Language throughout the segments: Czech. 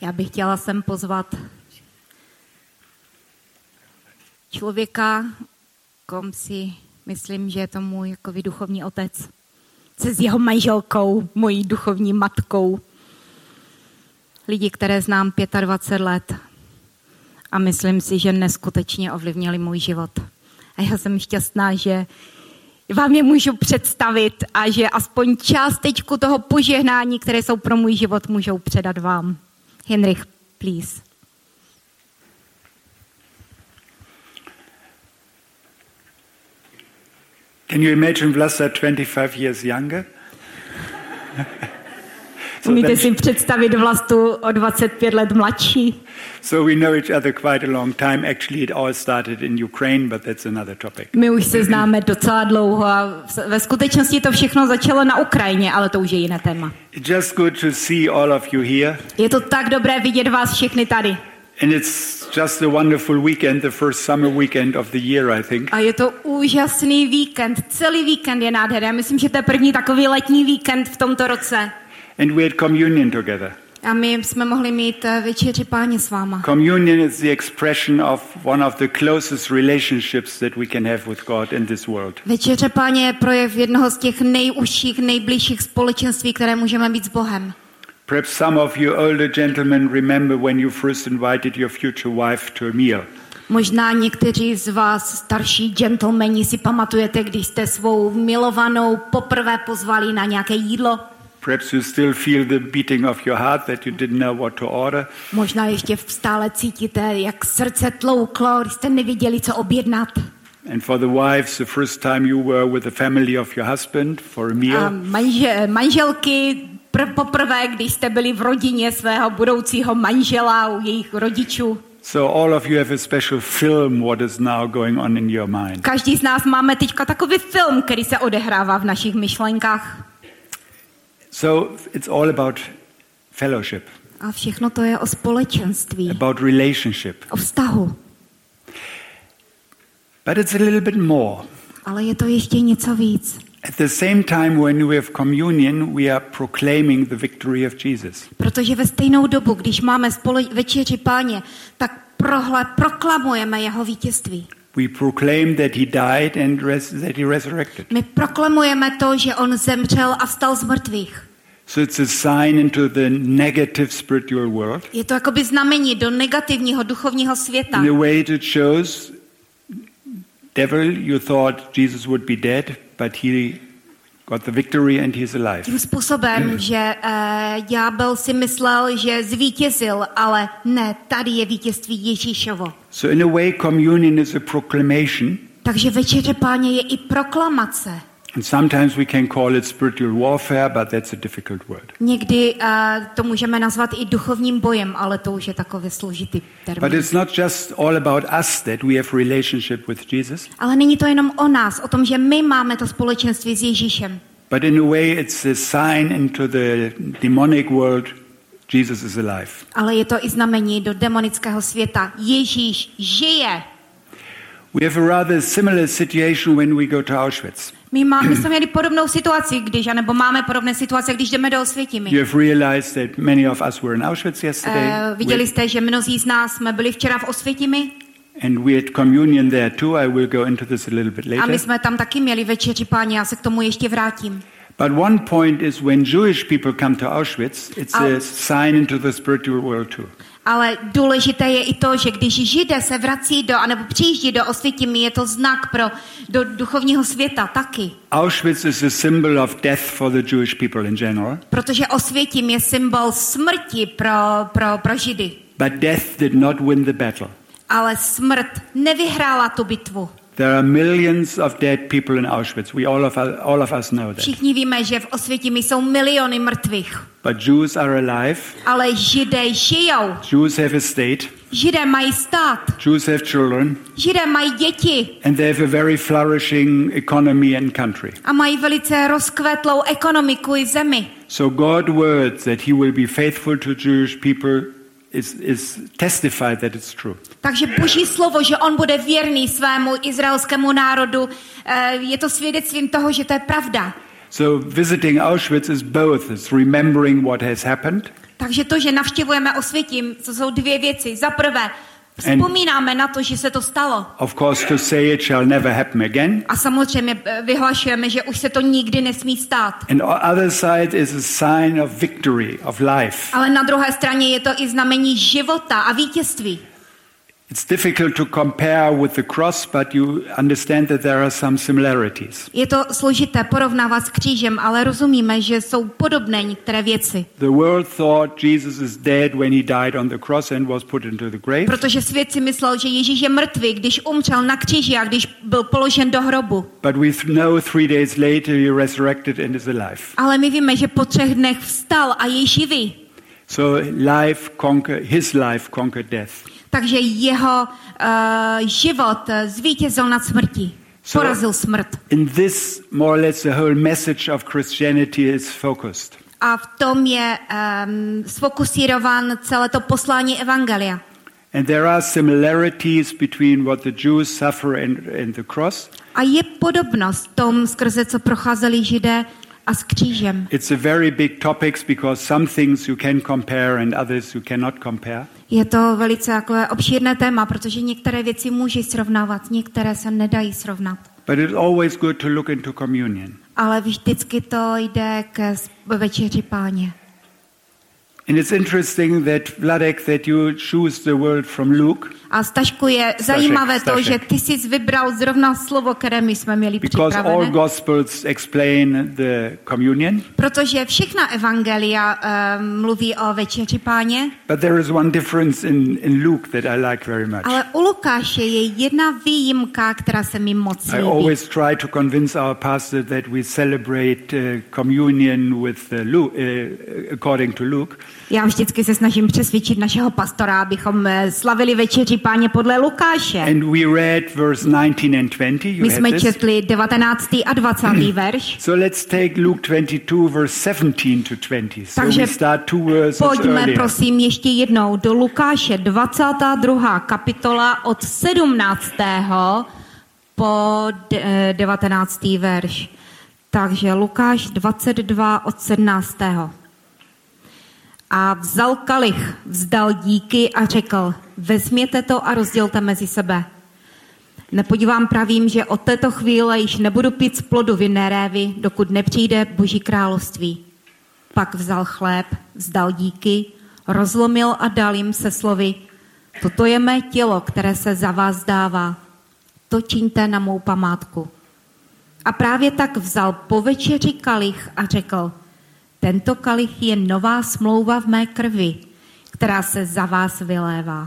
Já bych chtěla sem pozvat člověka, kom si myslím, že je to můj jako duchovní otec. Se s jeho manželkou, mojí duchovní matkou. Lidi, které znám 25 let. A myslím si, že neskutečně ovlivnili můj život. A já jsem šťastná, že vám je můžu představit a že aspoň částečku toho požehnání, které jsou pro můj život, můžou předat vám. Henrich, please. Can you imagine Vlasta 25 years younger? Umíte si představit Vlastu o 25 let mladší? So we know each other quite a long time. Actually, it all started in Ukraine, but that's another topic. My už se známe docela dlouho a ve skutečnosti to všechno začalo na Ukrajině, ale to už je jiné téma. It's just good to see all of you here. Je to tak dobré vidět vás všechny tady. And it's just a wonderful weekend, the first summer weekend of the year, I think. A je to úžasný víkend, celý víkend je nádherný. Já myslím, že to je první takový letní víkend v tomto roce. And we had communion together. A my jsme mohli mít večeři Páně s váma. Communion is the expression of one of the closest relationships that we can have with God in this world. Večeře Páně je projev jednoho z těch nejužších, nejbližších společenství, které můžeme mít s Bohem. Perhaps some of you older gentlemen remember when you first invited your future wife to a meal. Možná někteří z vás starší gentlemani si pamatujete, když jste svou milovanou poprvé pozvali na nějaké jídlo. Perhaps you still feel the beating of your heart that you didn't know what to order. Možná ještě stále cítíte, jak srdce tlouklo, když jste nevěděli, co objednat. And for the wives, the first time you were with the family of your husband for a meal. A manželky poprvé, když jste byli v rodině svého budoucího manžela u jejich rodičů. So all of you have a special film what is now going on in your mind. Každý z nás máme teďka takový film, který se odehrává v našich myšlenkách. So it's all about fellowship. A všechno to je o společenství. About relationship. O vztahu. But it's a little bit more. Ale je to ještě něco víc. At the same time when we have communion, we are proclaiming the victory of Jesus. Protože ve stejnou dobu, když máme večeři Páně, tak proklamujeme jeho vítězství. We proclaim that he died and that he resurrected. My proklamujeme to, že on zemřel a vstal z mrtvých. So it's a sign into the negative spiritual world. Je to jakoby znamení do negativního duchovního světa. In a way it shows, devil, you thought Jesus would be dead, but he got the victory and he's alive. Tím způsobem, že ďábel si myslel, že zvítězil, ale ne, tady je vítězství Ježíšovo. So in a way communion is a proclamation. Takže večeře Páně je i proklamace. And sometimes we can call it spiritual warfare, but that's a difficult word. Někdy to můžeme nazvat i duchovním bojem, ale to už je takový složitý termín. But it's not just all about us that we have relationship with Jesus. Ale není to jenom o nás, o tom, že my máme to společenství s Ježíšem. But in a way it's a sign into the demonic world. Jesus is alive. Ale je to i znamení do demonického světa. Ježíš žije. We have a rather similar situation when we go to Auschwitz. My jsme měli podobnou situaci, nebo máme podobné situace, když jdeme do Osvětimi. You have realized that many of us were in Auschwitz yesterday. Viděli jste, že mnozí z nás jsme byli včera v Osvětimi. And we had communion there too. I will go into this a little bit later. A my jsme tam taky měli večeři Páně, já se k tomu ještě vrátím. But one point is when Jewish people come to Auschwitz, it's a sign into the spiritual world too. Ale důležité je i to, že když Židé se vrací anebo přijíždí do Osvětimi, je to znak do duchovního světa taky. Auschwitz is a symbol of death for the Jewish people in general. Protože Osvětim je symbol smrti pro Židy. But death did not win the battle. Ale smrt nevyhrála tu bitvu. There are millions of dead people in Auschwitz. All of us know that. Všichni víme, že v Osvětimi jsou miliony mrtvých. But Jews are alive. Ale Židé žijou. Jews have a state. Židé mají stát. Jews have children. Židé mají děti. And they have a very flourishing economy and country. A mají velice rozkvetlou ekonomiku i zemi. So God's words that he will be faithful to Jewish people is testified that it's true. Takže Boží slovo, že on bude věrný svému izraelskému národu, je to svědectvím toho, že to je pravda. So visiting Auschwitz is both. It's remembering what has happened. Takže to, že navštěvujeme Osvětim, to jsou dvě věci. Za prvé, vzpomínáme na to, že se to stalo. Of course, to say it shall never happen again. A samozřejmě vyhlašujeme, že už se to nikdy nesmí stát. And the other side is a sign of victory, of life. Ale na druhé straně je to i znamení života a vítězství. It's difficult to compare with the cross, but you understand that there are some similarities. Je to složité porovnávat s křížem, ale rozumíme, že jsou podobné některé věci. The world thought Jesus is dead when he died on the cross and was put into the grave. Protože svět si myslel, že Ježíš je mrtvý, když umřel na kříži a když byl položen do hrobu. But we know 3 days later he resurrected and is alive. Ale my víme, že po 3 dnech vstal a je živý. So his life conquered death. Takže jeho život zvítězil nad smrtí. Porazil smrt. In this, more or less, the whole message of Christianity is focused. A v tom je sfokusírovan celé to poslání evangelia. And there are similarities between what the Jews suffer and the cross. A je podobnost tom, skrze co procházeli Židé a s křížem. It's a very big topic because some things you can compare and others you cannot compare. Je to velice takové obšírné téma, protože některé věci můžeš srovnávat, některé se nedají srovnat. But it's always good to look into communion. Ale vždycky to jde k večeři Páně. And it's interesting that Vladek, that you choose the word from Luke. A Stašku, je zajímavé to, že ty jsi vybral zrovna slovo, které my jsme měli Because all připravené. Gospels explain the communion. Protože všechna evangelia mluví o večeři Páně. But there is one difference in Luke that I like very much. Ale u Lukáše je jedna výjimka, která se mi moc I líbí. always try to convince our pastor that we celebrate communion with according to Luke. Já vždycky se snažím přesvědčit našeho pastora, abychom slavili večeři Páně podle Lukáše. And we read verse 19 and 20. You My had jsme this. četli 19. a 20. verš. So let's take Luke 22 verse 17 to 20. So Takže we start 2 verses pojďme earlier. prosím ještě jednou do Lukáše 22. kapitola od 17. po 19. verš. Takže Lukáš 22 od 17. A vzal kalich, vzdal díky a řekl, vezměte to a rozdělte mezi sebe. Nepodívám pravím, že od této chvíle již nebudu pít z plodu vinné révy, dokud nepřijde Boží království. Pak vzal chléb, vzdal díky, rozlomil a dal jim se slovy, toto je mé tělo, které se za vás dává. To čiňte na mou památku. A právě tak vzal po večeři kalich a řekl, tento kalich je nová smlouva v mé krvi, která se za vás vylévá.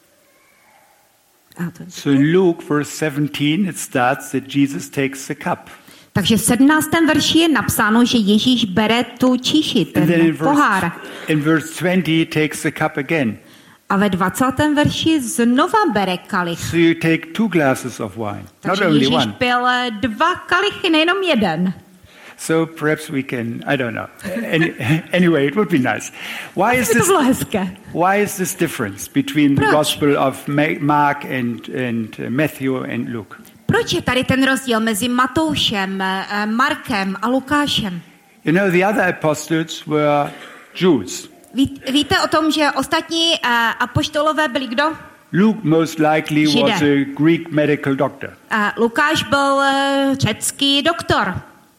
So in Luke verse 17 it starts that Jesus takes the cup. Takže v 17. verši je napsáno, že Ježíš bere tu číši, And then ten pohár. in verse 20 he takes the cup again. A ve 20. verši znova bere kalich. So you take 2 glasses of wine, not Takže only Ježíš one. pil 2 kalichy, nejenom jeden. So perhaps we can, I don't know. Anyway, it would be nice. Why is To this? bylo hezké. Why is this difference between the Proč? Gospel of Mark and Matthew and Luke? Proč je tady ten rozdíl mezi Matoušem, Markem a Lukášem? You know, the other apostles were Jews. Víte o tom, že ostatní apoštolové byli kdo? Luke most likely Židé. was a Greek medical doctor. Lukáš byl řecký doktor.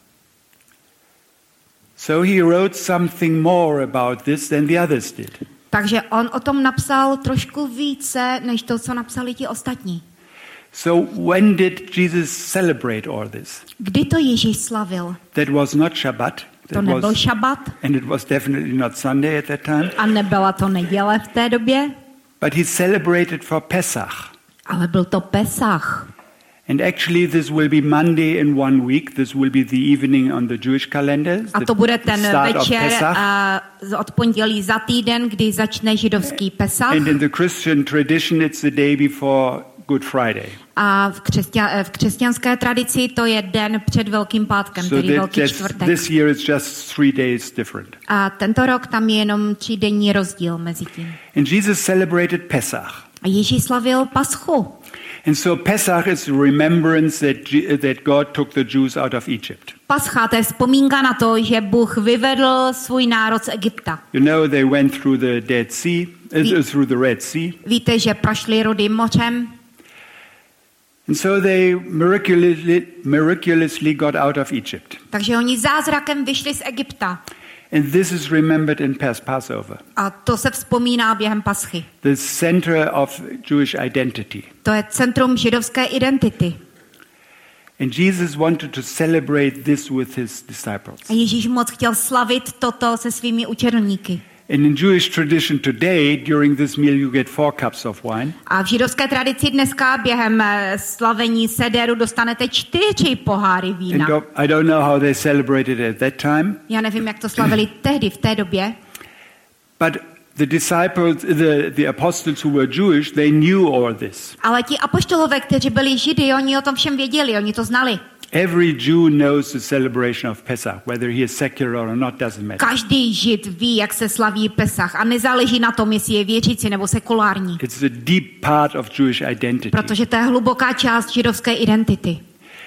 So he wrote something more about this than the others did. Takže on o tom napsal trošku více, než to, co napsali ti ostatní. So when did Jesus celebrate all this? Kdy to Ježíš slavil? That was not Shabbat. To nebyl šabat And it was definitely not Sunday at that time. a nebyla to neděle v té době, But he celebrated for Pesach. ale byl to Pesach. And actually this will be Monday in 1 week. This will be the evening on the Jewish calendar. A to bude ten start of večer Pesach. od pondělí za týden, kdy začne židovský Pesach. And in the Christian tradition it's the day before Good Friday. A v křesťanské tradici to je den před Velkým pátkem, So tedy Velký čtvrtek. this year it's just 3 days different. A tento rok tam je jenom 3denní rozdíl mezi tím. And Jesus celebrated Pesach. A Ježíš slavil Paschu. And so Pesach is a remembrance that God took the Jews out of Egypt. Pascha, to je vzpomínka na to, že Bůh vyvedl svůj národ z Egypta. You know, they went through the through the Red Sea. Víte, že prošli Rudým mořem. And so they miraculously got out of Egypt. Takže oni zázrakem vyšli z Egypta. And this is remembered in Passover. A to se vzpomíná během Paschy. The center of Jewish identity. To je centrum židovské identity. And Jesus wanted to celebrate this with his disciples. A Ježíš moc chtěl slavit toto se svými učedníky. And in Jewish tradition today, during this meal, you get 4 cups of wine. A v židovské tradici dneska během slavení sederu dostanete 4 poháry vína. And I don't know how they celebrated at that time. Já nevím, jak to slavili tehdy, v té době. But the disciples, the apostles who were Jewish, they knew all this. Ale ti apoštolové, kteří byli Židy, oni o tom všem věděli, oni to znali. Every Jew knows the celebration of Pesach, whether he is secular or not, doesn't matter. Každý Žid ví, jak se slaví Pesach a nezáleží na tom, jestli je věřící nebo sekulární. It's a deep part of Jewish identity. Protože to je hluboká část židovské identity.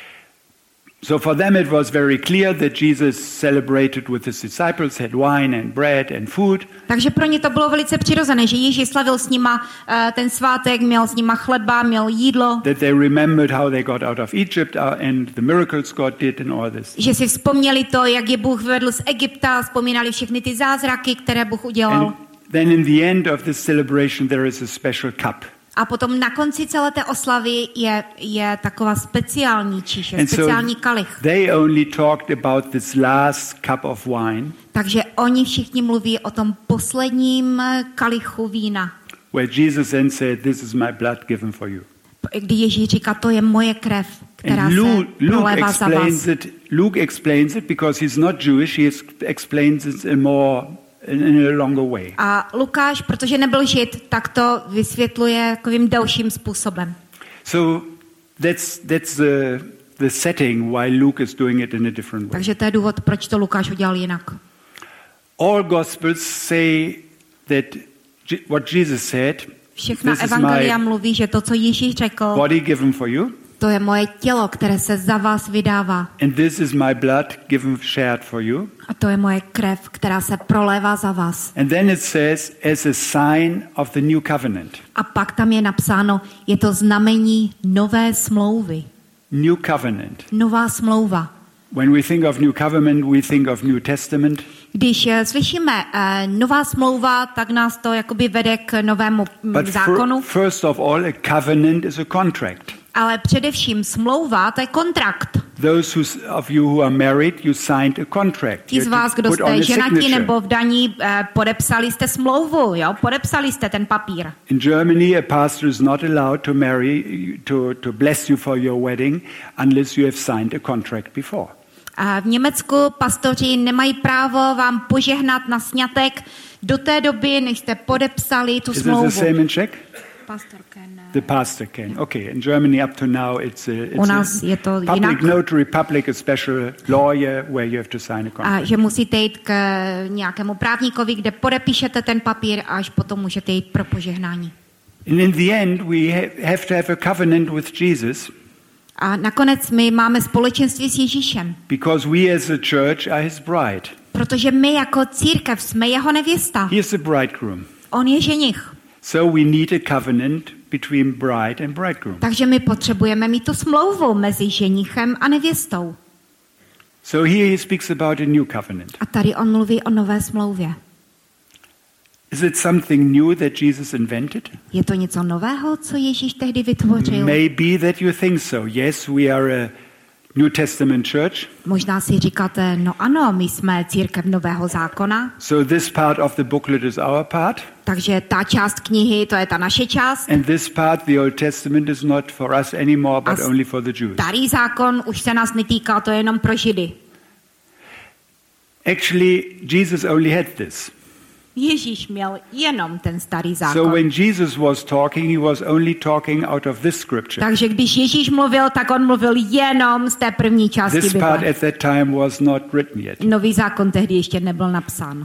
So for them it was very clear that Jesus celebrated with his disciples, had wine and bread and food. Takže pro ně to bylo velice přirozené, že Ježíš slavil s nima ten svátek, měl s nima chleba, měl jídlo. That they remembered how they got out of Egypt and the miracles God did and all this. Že si vzpomněli to, jak je Bůh vyvedl z Egypta, vzpomínali všechny ty zázraky, které Bůh udělal. And then in the end of this celebration there is a special cup. A potom na konci celé té oslavy je taková speciální číše, speciální kalich. They only talked about this last cup of wine. Takže oni všichni mluví o tom posledním kalichu vína. Where Jesus then said, "This is my blood given for you." Kdy Ježíš říká, to je moje krev, která se prolévá za vás. Luke explains it because he's not Jewish. He explains it in a longer way. A Lukáš, protože nebyl Žid, tak to vysvětluje takovým delším způsobem. So that's the setting why Luke is doing it in a different way. Takže to je důvod, proč to Lukáš udělal jinak. All Gospels say that what Jesus said. Všechna evangelia mluví, že to, co Ježíš řekl, body given for you. To je moje tělo, které se za vás vydává. And this is my blood given shared for you. A to je moje krev, která se prolévá za vás. And then it says as a sign of the new covenant. A pak tam je napsáno, je to znamení nové smlouvy. New covenant. Nová smlouva. When we think of new covenant, we think of New Testament. Když slyšíme nová smlouva, tak nás to jakoby vede k novému zákonu. First of all, a covenant is a contract. Ale především smlouva, to je kontrakt. Those of you who are married, you signed a contract. Ti z vás, kdo jste ženatí nebo vdaní, podepsali jste smlouvu, jo? Podepsali jste ten papír. In Germany, a pastor is not allowed to marry to bless you for your wedding unless you have signed a contract before. A v Německu pastoři nemají právo vám požehnat na sňatek do té doby, než jste podepsali tu smlouvu. Is it the same in Czech? Pastor can. The pastor can. Okay, in Germany up to now it's u nás je to public jinak. Notary, public a special lawyer where you have to sign a contract. A že musíte jít k nějakému právníkovi, kde podepíšete ten papír a až potom můžete jít pro požehnání. And in the end we have to have a covenant with Jesus. A nakonec my máme společenství s Ježíšem. Because we as a church are his bride. Protože my jako církev jsme jeho nevěsta. He is the bridegroom. On je ženich. So we need a covenant between bride and bridegroom. Takže my potřebujeme mít tu smlouvu mezi ženichem a nevěstou. So here he speaks about a new covenant. A tady on mluví o nové smlouvě. Is it something new that Jesus invented? Je to něco nového, co Ježíš tehdy vytvořil? Maybe that you think so. Yes, we are a New Testament church. Možná si říkáte, no ano, my jsme církev Nového zákona. So this part of the booklet is our part. Takže ta část knihy, to je ta naše část. And this part, the Old Testament, is not for us anymore, but only for the Jews. Starý zákon už se nás netýká, to je jenom pro Židy. Actually, Jesus only had this. Ježíš měl jenom ten starý zákon. So when Jesus was talking, he was only talking out of this scripture. Takže když Ježíš mluvil, tak on mluvil jenom z té první části Bible. This part at that time was not written yet. Nový zákon tehdy ještě nebyl napsán.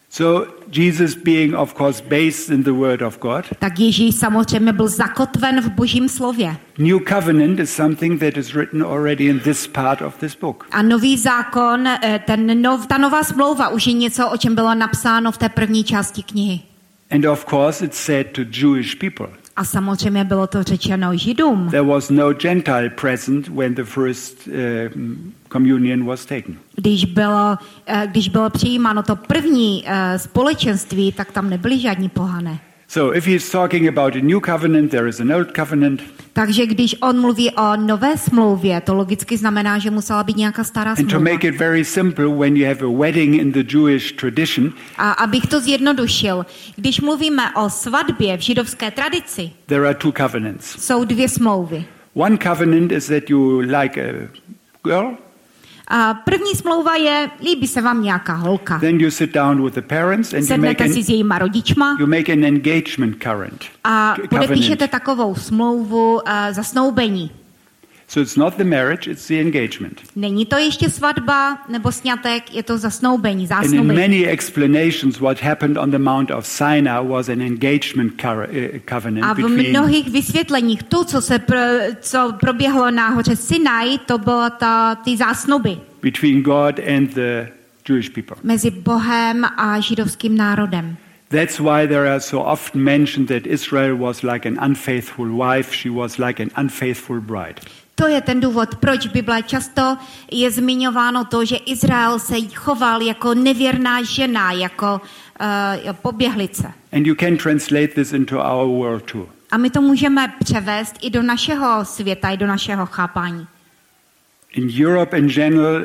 So Jesus being of course based in the word of God. Tak Ježíš samozřejmě byl zakotven v Božím slově. New covenant is something that is written already in this part of this book. A nový zákon, ta nová smlouva už je něco, o čem bylo napsáno v té první části knihy. And of course it's said to Jewish people. A samozřejmě bylo to řečeno Židům. There was no Gentile present when the first communion was taken. Když bylo přijímáno to první společenství, tak tam nebyli žádní pohané. So if he's talking about a new covenant, there is an old covenant. Takže když on mluví o nové smlouvě, to logicky znamená, že musela být nějaká stará smlouva. And to make it very simple, when you have a wedding in the Jewish tradition, a abych to zjednodušil, když mluvíme o svatbě v židovské tradici, there are two covenants. Jsou dvě smlouvy. One covenant is that you like a girl. A první smlouva je, líbí se vám nějaká holka. Then you sit down with the parents and sednete si s jejíma rodičma. You make an engagement current. A podepíšete takovou smlouvu zasnoubení. So it's not the marriage, it's the engagement. Není to ještě svatba nebo sňatek, je to zasnoubení, zásnoubení. And in many explanations what happened on the Mount of Sinai was an engagement covenant. A v mnohých vysvětleních to, co proběhlo na hoře Sinai, to bylo ty zásnuby. Between God and the Jewish people. Mezi Bohem a židovským národem. That's why there are so often mentioned that Israel was like an unfaithful wife, she was like an unfaithful bride. To je ten důvod, proč v Bible často je zmiňováno to, že Izrael se choval jako nevěrná žena, jako poběhlice. And you can translate this into our world too. A my to můžeme převést i do našeho světa, i do našeho chápání. In Europe in general,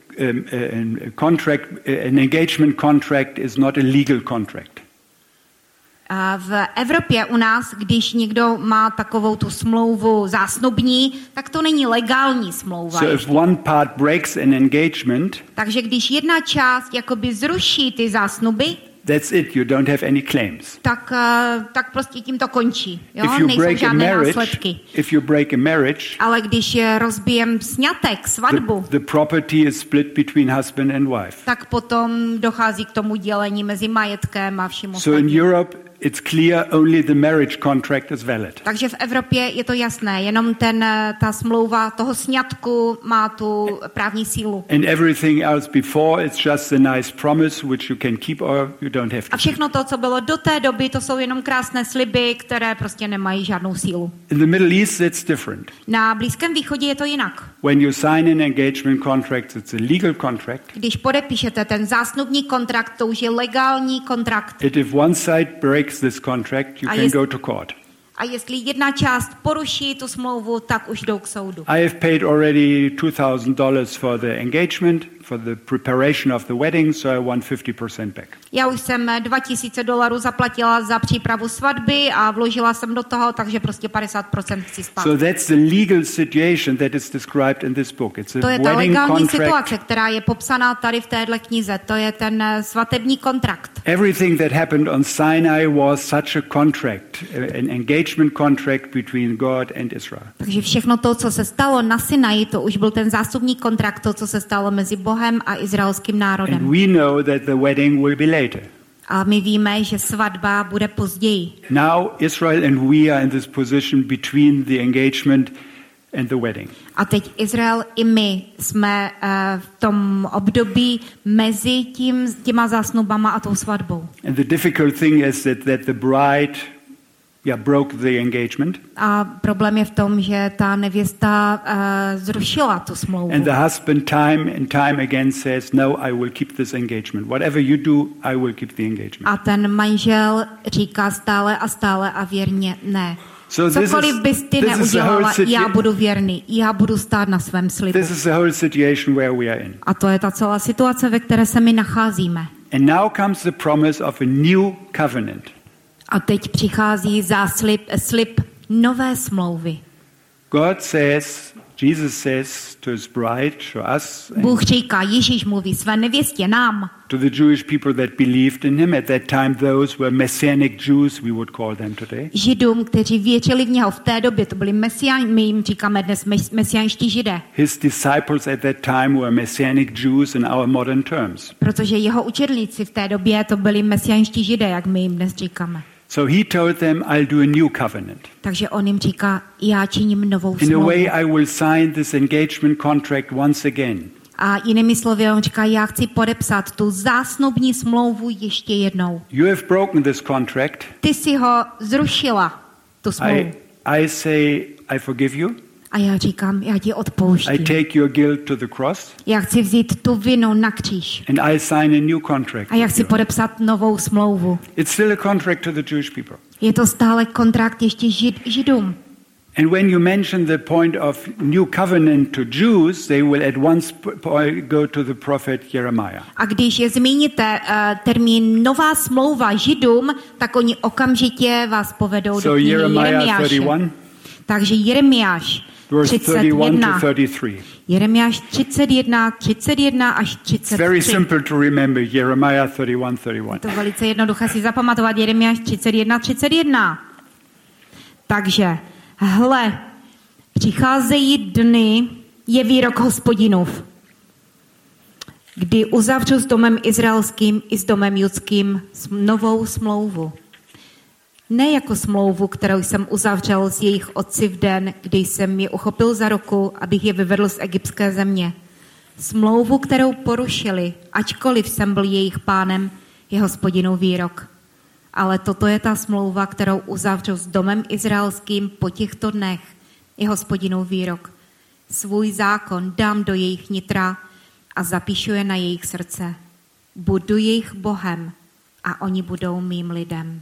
an engagement contract is not a legal contract. A v Evropě u nás, když někdo má takovou tu smlouvu zásnubní, tak to není legální smlouva. So if one part breaks an engagement, takže když jedna část jakoby zruší ty zásnuby, that's it, you don't have any claims. Tak prostě tím to končí. Jo? Nejsou žádné následky. If you break a marriage, ale když rozbijem sňatek, svatbu, the property is split between husband and wife. Tak potom dochází k tomu dělení mezi majetkem a vším ostatním. So in Europe it's clear only the marriage contract is valid. Takže v Evropě je to jasné, jenom ta smlouva toho sňatku má tu právní sílu. And everything else before it's just a nice promise which you can keep or you don't have to. A všechno to, co bylo do té doby, to jsou jenom krásné sliby, které prostě nemají žádnou sílu. In the Middle East it's different. Na Blízkém východě je to jinak. When you sign an engagement contract, it's a legal contract. Když podepíšete ten zásnubní kontrakt, to už je legální kontrakt. If one side breaks this contract, you can go to court. A jestli jedna část poruší tu smlouvu, tak už jdou k soudu. I have paid already $2,000 for the engagement, for the preparation of the wedding, so I want 50% back. Já už jsem $2,000 zaplatila za přípravu svatby a vložila jsem do toho, takže prostě 50% chci zpátky. So that's the legal situation that is described in this book. It's a to je ta wedding legální contract. situace, která je popsaná tady v téhle knize. To je ten svatební kontrakt. Everything that happened on Sinai was such a contract, an engagement contract between God and Israel. Takže všechno to, co se stalo na Sinaji, to už byl ten zásnubní kontrakt, to, co se stalo mezi Bohem a izraelským národem. And we know that the wedding will be later. A my víme, že svatba bude později. Now Israel and we are in this position between the engagement and the wedding. A teď Izrael i my jsme v tom období mezi těma zásnubama a tou svatbou. And the difficult thing is that the bride broke the engagement. A problém je v tom, že ta nevěsta zrušila tu smlouvu. And the husband time and time again says, no, I will keep this engagement. Whatever you do, I will keep the engagement. A ten manžel říká stále a stále a věrně ne. Cokoliv bys ty neudělala, já budu věrný, já budu stát na svém slibu. This is the whole situation where we are in. A to je ta celá situace, ve které se my nacházíme. And now comes the promise of a new covenant. A teď přichází slib nové smlouvy. God says Jesus says to his bride, to us, Bůh říká, Ježíš mluví své nevěstě, nám, to the Jewish people that believed in him. At that time, those were Messianic Jews, we would call them today. Židům, kteří věřili v něho v té době, to byli my jim říkáme dnes mesiánští Židé. His disciples at that time were Messianic Jews in our modern terms. Protože jeho učedníci v té době to byli mesiánští Židé, jak my jim dnes říkáme. So he told them, I'll do a new covenant. Takže on jim říká, já činím novou In a smlouvu. way, I will sign this engagement contract once again. A jinými slovy, on říká, já chci podepsat tu zásnubní smlouvu ještě jednou. You have broken this contract. Ty si ho zrušila, tu smlouvu. I say, I forgive you. A já říkám, já ti I odpouštím. take your guilt to the cross. Já chci vzít tu vinu na kříž. And I sign a new contract. A já with chci you. podepsat novou smlouvu. It's still a contract to the Jewish people. Je to stále kontrakt ještě Židům. And when you mention the point of new covenant to Jews, they will at once go to the prophet Jeremiah. A když je zmíníte termín nová smlouva Židům, tak oni okamžitě vás povedou do knihy Jeremiah Jeremiáše. 31, Takže Jeremiáš verse 31 31. to 33. Jeremiáš 31 až 33. Very simple to remember, Jeremiah 31, 31. To velice jednoduché si zapamatovat, Jeremiáš 31. Takže, hle, přicházejí dny, je výrok Hospodinův, kdy uzavřu s domem izraelským i s domem judským novou smlouvu. Ne jako smlouvu, kterou jsem uzavřel s jejich otci v den, kdy jsem je uchopil za ruku, abych je vyvedl z egyptské země. Smlouvu, kterou porušili, ačkoliv jsem byl jejich pánem, je Hospodinův výrok. Ale toto je ta smlouva, kterou uzavřu s domem izraelským po těchto dnech, je Hospodinův výrok. Svůj zákon dám do jejich nitra a zapíšu je na jejich srdce. Budu jejich Bohem a oni budou mým lidem.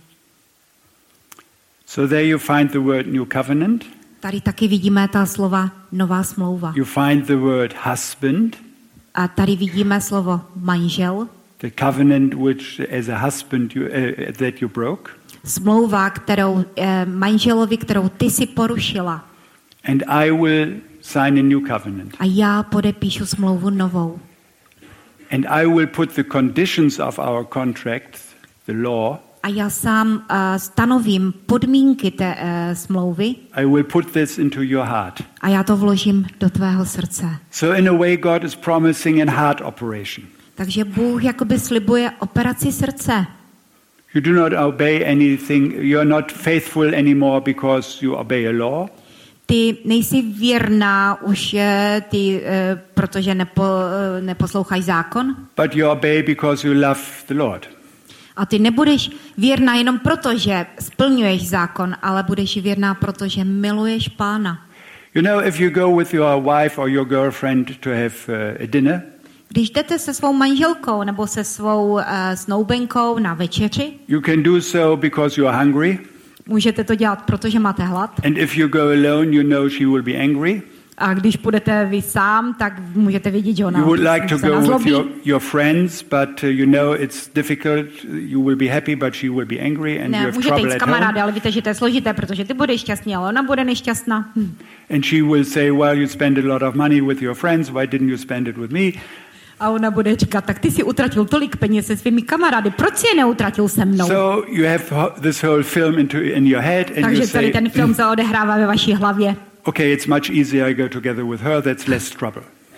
So there you find the word new covenant. Tady taky vidíme ta slova nová smlouva. You find the word husband, A tady vidíme slovo manžel, the covenant which as a husband that you broke. smlouva, kterou manželovi, kterou ty si porušila. And I will sign a new covenant. A já podepíšu smlouvu novou. And I will put the conditions of our contract, the law, A já sám stanovím podmínky té smlouvy I will put this into your heart. a já to vložím do tvého srdce. So in a way God is promising a heart operation. Takže Bůh jakoby slibuje operaci srdce. You do not obey anything, you are not faithful anymore because you obey a law. Ty nejsi věrná už, protože neposloucháš zákon. But you obey because you love the Lord. A ty nebudeš věrná jenom proto, že splňuješ zákon, ale budeš věrná, protože miluješ Pána. You know, if you go with your wife or your girlfriend to have a dinner, Když jdete se svou manželkou nebo se svou snoubenkou na večeři, you can do so because you are hungry. můžete to dělat, protože máte hlad. And if you go alone, you know she will be angry. A když půjdete vy sám, tak můžete vědět, že ona You would like to se go with nazlobí. your friends, but you know it's difficult. You will be happy, but she will be angry, and you Ne, have můžete jít trouble s at kamarády, home. ale víte, že to je složité, protože ty budeš šťastný, ale ona bude nešťastná. And she will say, well, you spend a lot of money with your friends. Why didn't you spend it with me? A ona bude říkat, tak ty si utratil tolik peněz se svými kamarády, proč si je neutratil se mnou? So you have this whole film in your head, and you Takže celý say, ten film se odehrává ve vaší hlavě. okay, it's much easier. I go together with her. That's less trouble.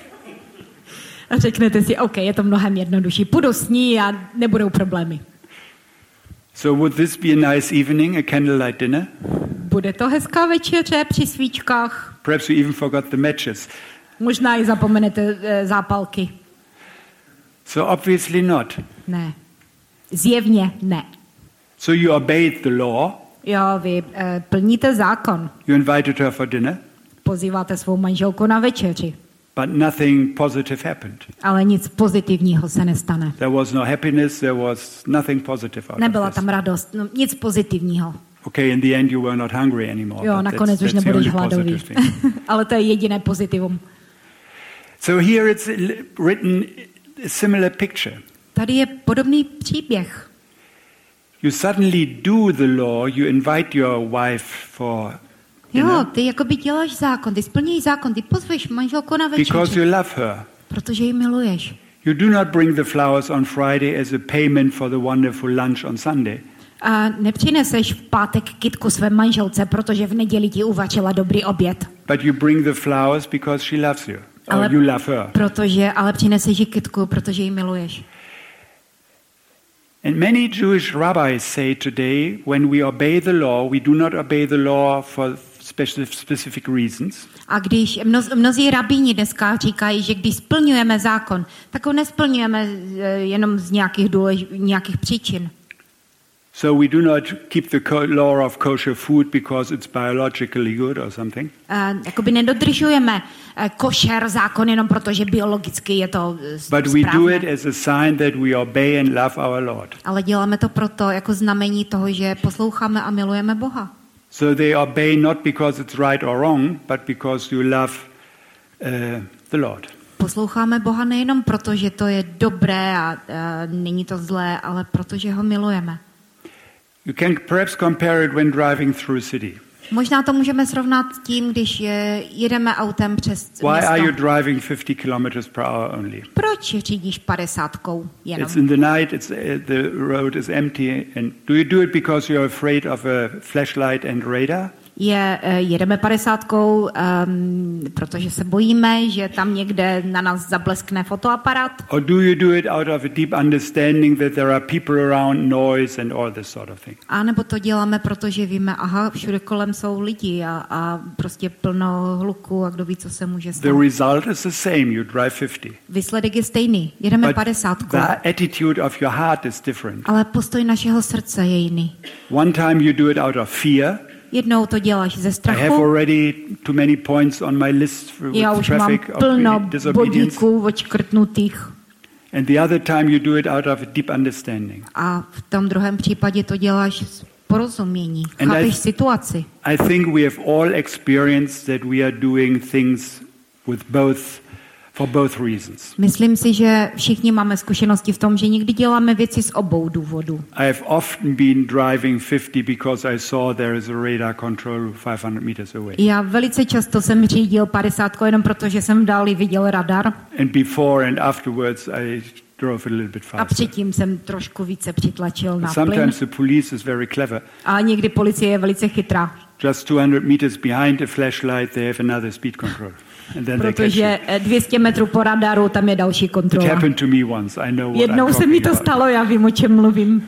A řeknete si, OK, je to mnohem jednodušší, půjdu s ní a nebudou problémy. So would this be a nice evening, a candlelight dinner? Bude to hezká večeře při svíčkách. Perhaps you even forgot the matches. Možná i zapomenete zápalky. So obviously not. Ne. Zjevně ne. So you obeyed the law. Jo, vy plníte zákon. You invited her for dinner, Pozýváte svou manželku na večeři. but nothing positive happened. Ale nic pozitivního se nestane. There was no happiness. There was nothing positive out Nebyla of this. tam radost, no, nic pozitivního. Okay, in the end you were not hungry anymore. Jo, but nakonec už that's the nebudeš only hladový. positive thing. Ale to je jediné pozitivum. So here it's written a similar picture. Tady je podobný příběh. You suddenly do the law. You invite your wife for Jo, ty jakoby děláš zákon, ty splňují zákon, ty pozveš manželku na because večeři, you love her. protože ji miluješ. You do not bring the flowers on Friday as a payment for the wonderful lunch on Sunday. A nepřineseš v pátek kytku své manželce, protože v neděli ti uvařila dobrý oběd. But you bring the flowers because she loves you, or you love her. Ale přineseš ji kytku, protože ji miluješ. And many Jewish rabbis say today, when we obey the law, we do not obey the law for specific reasons. A když mnozí rabíni dneska říkají, že když splňujeme zákon, tak ho nesplňujeme jenom z nějakých příčin. So we do not keep the law of kosher food because it's biologically good or something. Jakoby nedodržujeme košer zákon jenom proto, že biologicky je to But we do it as a sign that we obey and love our Lord. Ale děláme to proto jako znamení toho, že posloucháme a milujeme Boha. So they obey not because it's right or wrong, but because you love the Lord. Posloucháme Boha nejenom proto, že to je dobré a není to zlé, ale protože ho milujeme. You can perhaps compare it when driving through a city. Možná to můžeme srovnat tím, když jedeme autem přes město. Why are you driving 50 kilometers per hour only? Proč řídíš 50kou jenom? It's in the night, the road is empty. And do you do it because you're afraid of a flashlight and radar? Jedeme 50kou, protože se bojíme, že tam někde na nás zableskne fotoaparát. Or do you do it out of a deep understanding that there are people around, noise and all this sort of thing? A nebo to děláme, protože víme, všude kolem jsou lidi a prostě plno hluku a kdo ví, co se může stát. The result is the same, you drive 50. Výsledek je stejný, jedeme 50kou. The attitude of your heart is different. Ale postoj našeho srdce je jiný. One time you do it out of fear. Jednou to děláš ze strachu. I have already too many points on my list with Já už traffic mám plno of disobedience. bodíků odškrtnutých. And the other time you do it out of a deep understanding. A v tom druhém případě to děláš z porozumění. Chápeš situaci. I think we have all experienced that we are doing things for both reasons. Myslím si, že všichni máme zkušenosti v tom, že někdy děláme věci z obou důvodů. I have often been driving 50 because I saw there is a radar control 500 meters away. Já velice často jsem řídil 50 jenom proto, že jsem v dáli viděl radar. And before and afterwards I drove a little bit faster. A předtím jsem trošku více přitlačil na plyn. Sometimes the police is very clever. A někdy policie je velice chytrá. Just 200 meters behind a flashlight they have another speed control. Protože 200 metrů po radaru tam je další kontrola. It happened to me once. I know what Jednou I'm se mi to talking stalo, já vím, o čem mluvím.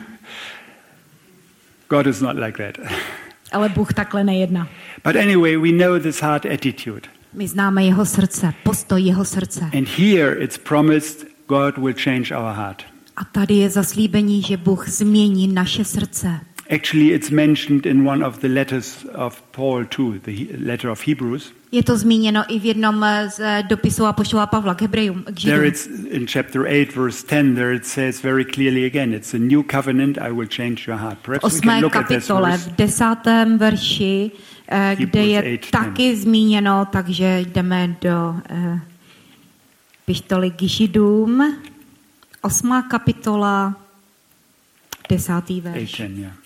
God is not like that. Ale Bůh takhle nejedná. But anyway, we know this heart attitude. My známe jeho srdce, postoj jeho srdce. And here it's promised God will change our heart. A tady je zaslíbení, že Bůh změní naše srdce. Actually, it's mentioned in one of the letters of Paul too, the letter of Hebrews. Je to zmíněno i v jednom z dopisů apoštola Pavla k Hebrejům, k Židům. There it's in chapter 8 verse 10 there it says very clearly again, it's a new covenant, I will change your heart. Perhaps we can look at this verse. V 10. verši, kde je taky zmíněno, takže jdeme do epištoly k Židům, 8. kapitola, 10. verš. 8, yeah.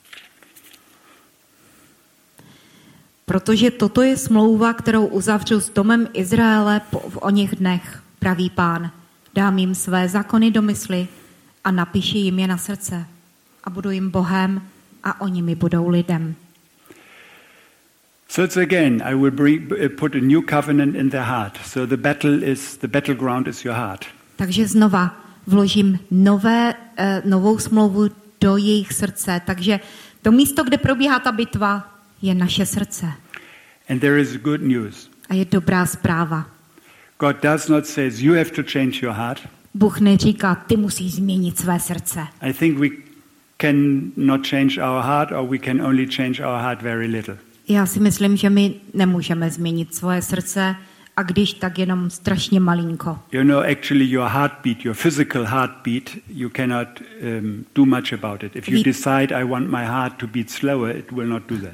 Protože toto je smlouva, kterou uzavřu s domem Izraele v oněch dnech, praví Pán. Dám jim své zákony do mysli a napíši jim je na srdce. A budu jim Bohem a oni mi budou lidem. So it's again, I will put a new covenant in their heart. So the battleground is your heart. Takže znova vložím novou smlouvu do jejich srdce. Takže to místo, kde probíhá ta bitva, je naše srdce. And there is good news. A je dobrá zpráva. God does not say you have to change your heart. Bůh neříká, ty musíš změnit své srdce. I think we can not change our heart, or we can only change our heart very little. Já si myslím, že my nemůžeme změnit svoje srdce, a když tak jenom strašně malinko. You know, actually your heartbeat, your physical heartbeat, you cannot do much about it. If you decide I want my heart to beat slower, it will not do that.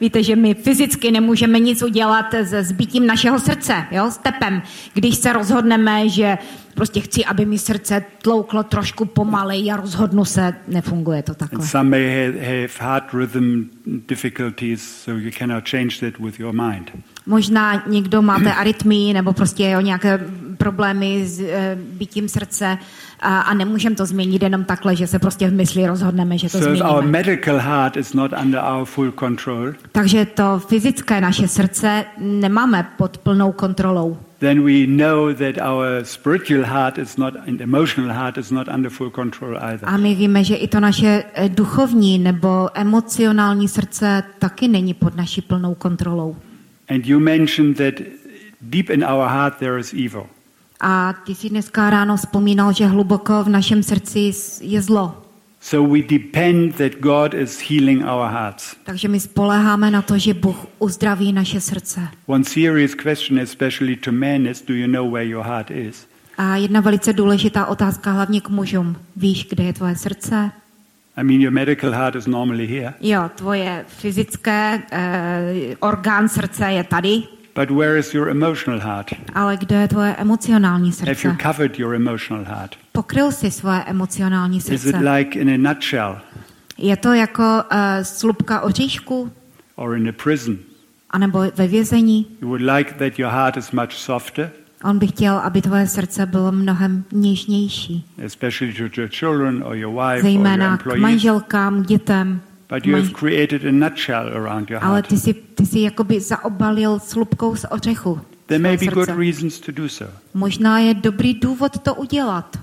Víte, že my fyzicky nemůžeme nic udělat se zbytím našeho srdce, jo, s tepem. Když se rozhodneme, že prostě chci, aby mi srdce tlouklo trošku pomaleji a rozhodnu se, nefunguje to takhle. And some may have heart rhythm difficulties, so you cannot change that with your mind. Možná někdo máte arytmii nebo prostě nějaké problémy s bytím srdce a nemůžeme to změnit jenom takhle, že se prostě v mysli rozhodneme, že to So if our změníme. medical heart is not under our full control, Takže to fyzické naše srdce nemáme pod plnou kontrolou. then we know that our spiritual heart is not, and emotional heart is not under full control either. A my víme, že i to naše duchovní nebo emocionální srdce taky není pod naší plnou kontrolou. And you mentioned that deep in our heart there is evil. A ty si dneska ráno vzpomínal, že hluboko v našem srdci je zlo. So we depend that God is healing our hearts. Takže my spoléháme na to, že Bůh uzdraví naše srdce. One serious question, especially to men, is do you know where your heart is? A jedna velice důležitá otázka hlavně k mužům. Víš, kde je tvoje srdce? I mean, your medical heart is normally here. Jo, tvoje fyzické orgán srdce je tady, But where is your emotional heart? ale kde je tvoje emocionální Have you srdce? covered your emotional heart? Pokryl jsi svoje emocionální Is it srdce? like in a nutshell Je to jako slupka oříšku, or in a prison? anebo ve vězení? You would like that your heart is much softer, On by chtěl, aby tvoje srdce bylo mnohem něžnější. especially to your children or your wife or your Zejména k employees. manželkám, dětem. But you have created a nutshell around your Ale heart. ty jsi jakoby zaobalil slupkou z ořechu. There may be své good srdce. reasons to do so. Možná je dobrý důvod to udělat.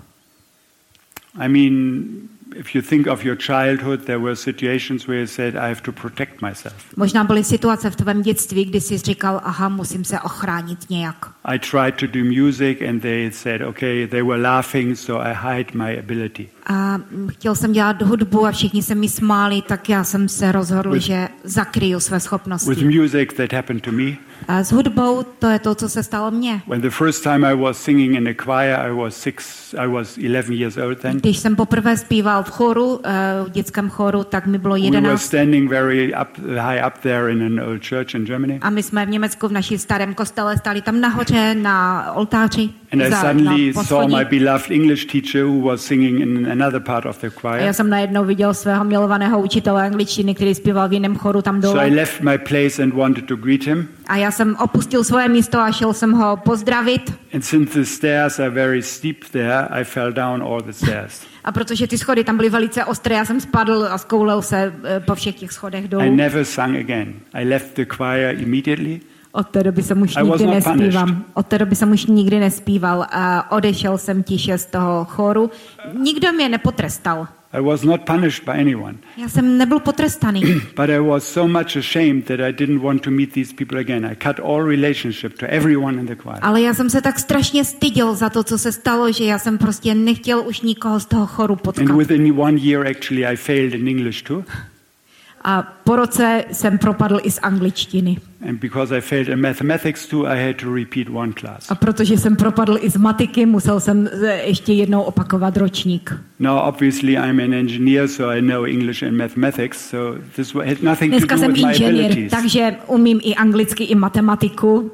I mean, if you think of your childhood, there were situations where you said, I have to protect myself. Možná byly situace v tvém dětství, kdy jsi říkal, aha, musím se ochránit nějak. I tried to do music and they said, okay, they were laughing, so I hide my ability. A chtěl jsem dělat hudbu a všichni se mi smáli, tak já jsem se rozhodl, že zakryju své With schopnosti. music, that happened to me. A s hudbou to je to, co se stalo mně. When the first time I was singing in a choir, I was 11 years old then. Když jsem poprvé zpíval v choru, v dětském choru, tak mi bylo We were 11. standing very high up there in an old church in Germany. A my jsme v Německu v naší starém kostele stáli tam nahoře na oltáři. And I na suddenly saw poschodí. my beloved English teacher who was singing in another part of the A choir. já jsem najednou viděl svého milovaného učitele angličtiny, který zpíval v jiném choru tam So I dole. left my place and wanted to greet him. A já jsem opustil svoje místo a šel jsem ho pozdravit. And since the stairs are very steep there, I fell down all the stairs. A protože ty schody tam byly velice ostré, já jsem spadl a zkoulel se po všech těch schodech I dolů. never sung again. I left the choir immediately. Od té doby jsem už I was nikdy not nespíval. punished. Od té doby jsem už nikdy nespíval a odešel jsem tiše z toho choru. Nikdo mě nepotrestal. I was not punished by anyone. Já jsem nebyl potrestaný. But I was so much ashamed that I didn't want to meet these people again. I cut all relationship to everyone in the choir. Ale já jsem se tak strašně styděl za to, co se stalo, že já jsem prostě nechtěl už nikoho z toho choru potkat. And within 1 year, actually, I failed in English too. A po roce jsem propadl i z angličtiny. And because I failed in mathematics too, I had to repeat one class. A protože jsem propadl i z matiky, musel jsem ještě jednou opakovat ročník. Now, obviously, I'm an engineer, so I know English and mathematics. So this had nothing to Dneska do jsem with my inženýr, abilities. takže umím i anglicky, i matematiku.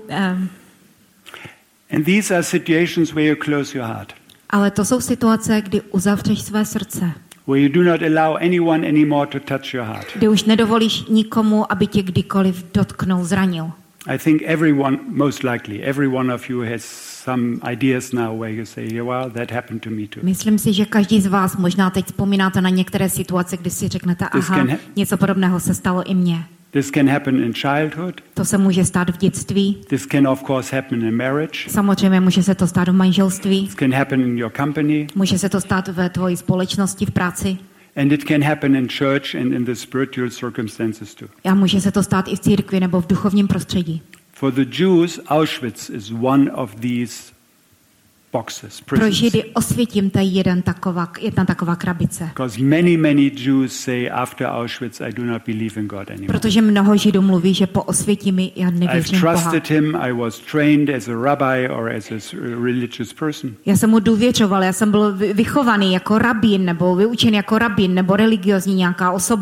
And these are situations where you close your heart, Ale to jsou situace, kdy uzavřeš své srdce. where you do not allow anyone anymore to touch your heart. Kdy už nedovolíš nikomu, aby tě kdykoliv dotknul, zranil. I think everyone, most likely, every one of you has some ideas now where you say, yeah, well, that happened to me too. Myslím si, že každý z vás možná teď vzpomínáte na některé situace, kdy si řeknete, aha, něco podobného se stalo i mně. This can happen in childhood. To se může stát v dětství. This can, of course, happen in marriage. Samozřejmě může se to stát v manželství. This can happen in your company. Může se to stát ve tvojí společnosti, v práci. And it can happen in church and in the spiritual circumstances too. A může se to stát i v církvi nebo v duchovním prostředí. For the Jews, Auschwitz is one of these boxes, Pro prisons. Židy Osvětim to je jedna taková krabice. Because many Jews say after Auschwitz, I do not believe in God anymore. Protože mnoho Židů mluví, že po Osvětimi já I've nevěřím v Boha. trusted him. I was trained as a rabbi or as a religious person. Já jsem mu důvěřoval, já jsem byl vychovaný jako rabín, nebo vyučen jako rabín, nebo religiozní nějaká osoba.